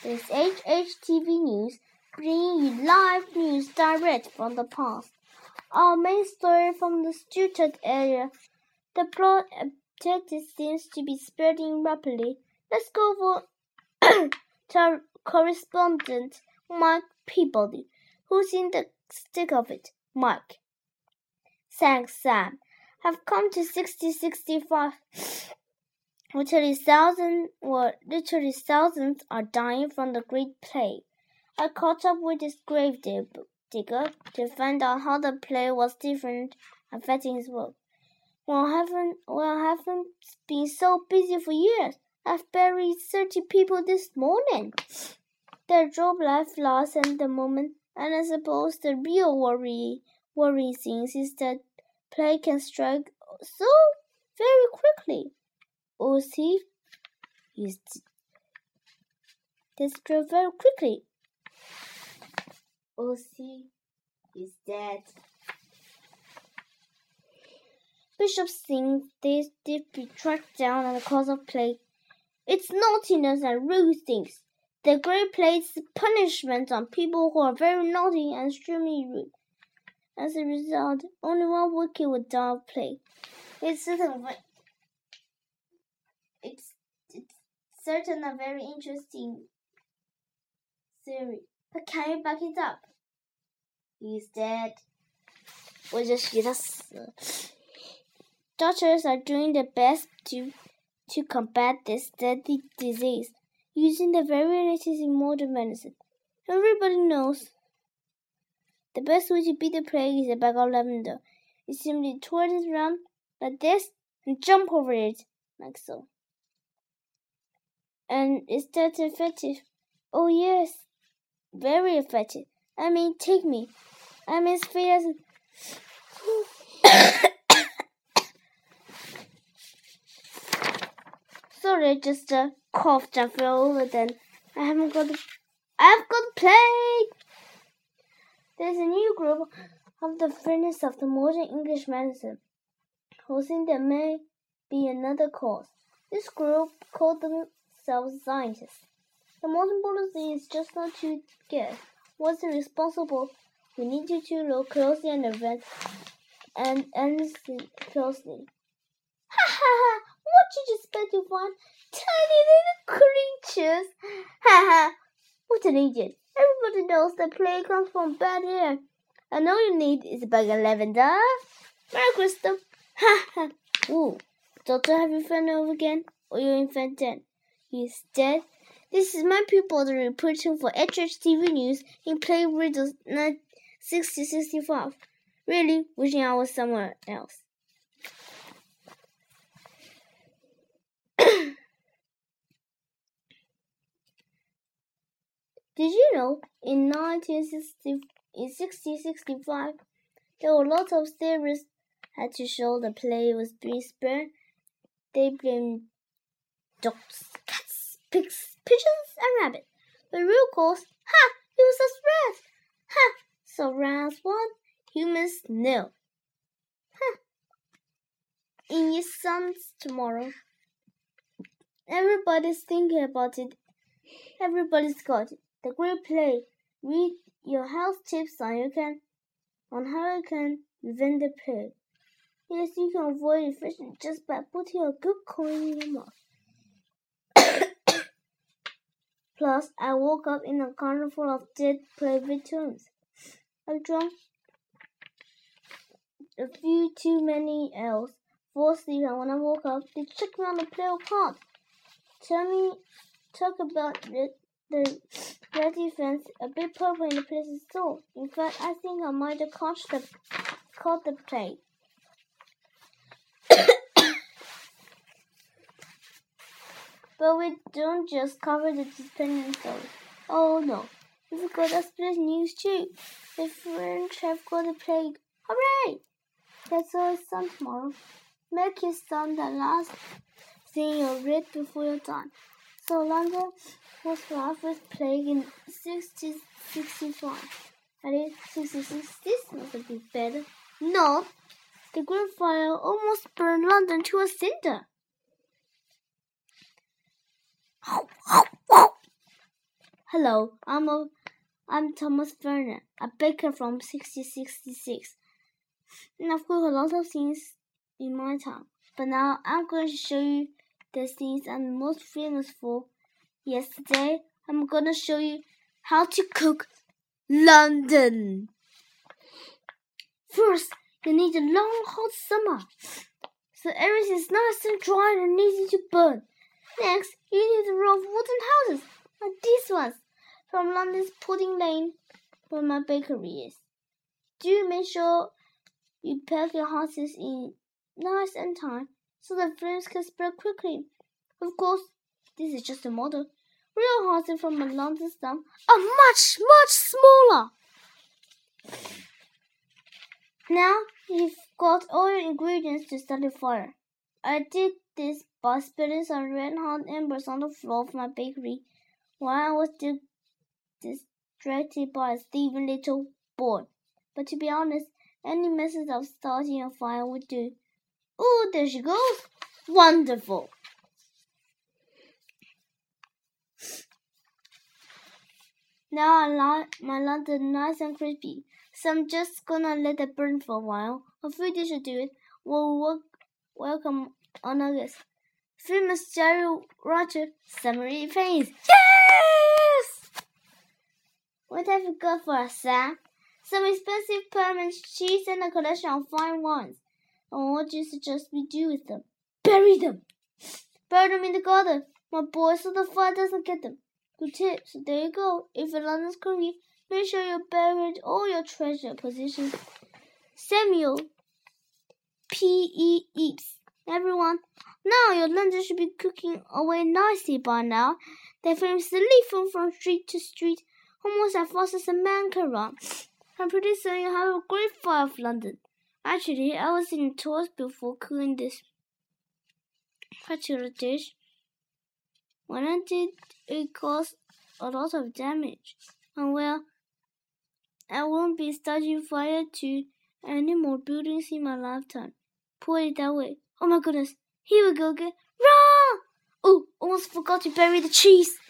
This is HHTV News, bringing you live news direct from the past. Our main story from the Stuttgart area. The plot seems to be spreading rapidly. Let's go for to our correspondent, Mike Peabody, who's in the thick of it. Mike. Thanks, Sam. Have come to 6065. Literally thousands are dying from the Great Plague. I caught up with this grave digger to find out how the plague was different affecting his work. Well, I haven't been so busy for years. I've buried 30 people this morning. Their job life lasts at the moment, and I suppose the real worry things is that plague can strike so very quickly. Ozzy is destroyed very quickly. Ozzy is dead. Bishops think they did be tracked down on the cause of plague. It's naughtiness and rude things. The Great Plague's punishment on people who are very naughty and extremely rude. As a result, only one wicked would die of plague. It's certain a very interesting theory. But can you back it up? He's dead. 我就许他死。Doctors are doing their best to combat this deadly disease using the very latest in modern medicine. Everybody knows the best way to beat the plague is a bag of lavender. You simply twirl it around like this and jump over it like so. And is that effective? Oh yes, very effective. I mean, take me. I'm as fit as Sorry, I just coughed and fell over then. I've got plague. There's a new group of the friends of the modern English medicine who think there may be another cause. This group called themselves scientists. The modern policy is just not to guess what's responsible. We need you to look closely at the event and listen closely. Ha ha ha! What did you expect to find? Tiny little creatures! Ha ha! What an idiot! Everybody knows the plague comes from bad air. And all you need is a bag of lavender. Merry Christmas! Ha ha! Ooh, Doctor, have you found over again? Or your infant dead? He's dead. This is my pupil reporting for HHTV News in Plague Riddles 6065. Really wishing I was somewhere else. Did you know in 1665 there were lots of theories had to show the plague was being spread? They blamed dogs, cats, pigs, pigeons, and rabbits. The real cause, it was a rat. So rats what? Humans no. In your sons tomorrow. Everybody's thinking about it. Everybody's got it. The Great Plague. Read your health tips on how you can prevent the plague. Yes, you can avoid infection just by putting a good coin in your mouth. Plus, I woke up in a corner full of dead plague victims. I drank a few too many ales, fall asleep, and when I woke up, they checked me on the plague card. Talk about the red defense, a bit purple in the place is sore. In fact, I think I might have caught the plague. But we don't just cover the dependent stories. Oh no, we've got a split news too. The French have got the plague. Hooray! That's all it's done tomorrow. Make your son the last thing you read before you're done. So London was rough with plague in 1665. At least 1660 must have been better. No, the Great Fire almost burned London to a cinder. Hello, I'm Thomas Werner, a baker from 1666. And I've cooked a lot of things in my time, but now I'm going to show you the things I'm most famous for. Yes, today I'm going to show you how to cook London. First, you need a long hot summer, so everything is nice and dry and easy to burn. Next, you need a row of wooden houses, like these ones, from London's Pudding Lane, where my bakery is. Do make sure you pack your houses in nice and tight, so the flames can spread quickly. Of course, this is just a model. Real houses from a London slum are much, much smaller. Now you've got all your ingredients to start a fire. I did this by spilling some red-hot embers on the floor of my bakery while I was still distracted by a thieving little boy. But to be honest, any method of starting a fire would do. Oh, there she goes! Wonderful! Now I like my London nice and crispy, so I'm just gonna let it burn for a while. A few dishes to do it. We'll welcome our nuggets. Famous Jerry Roger summary pains. Yes! What have you got for us, Sam? Some expensive Parmesan cheese and a collection of fine wines. And what do you suggest we do with them? Bury them! Bury them in the garden, my boy, so the fire doesn't get them. Good tip, so there you go. If you're London's cookie, make sure you buried all your treasure possessions. Samuel P.E. Eaps. Everyone, now your London should be cooking away nicely by now. They famously leap from street to street, almost as fast as a man can run. And pretty soon you'll have a great fire of London. Actually, I was in tours before cooking this particular dish. When I did, it caused a lot of damage. And well, I won't be starting fire to any more buildings in my lifetime. Put it that way. Oh my goodness, here we go again. Run! Oh, almost forgot to bury the cheese.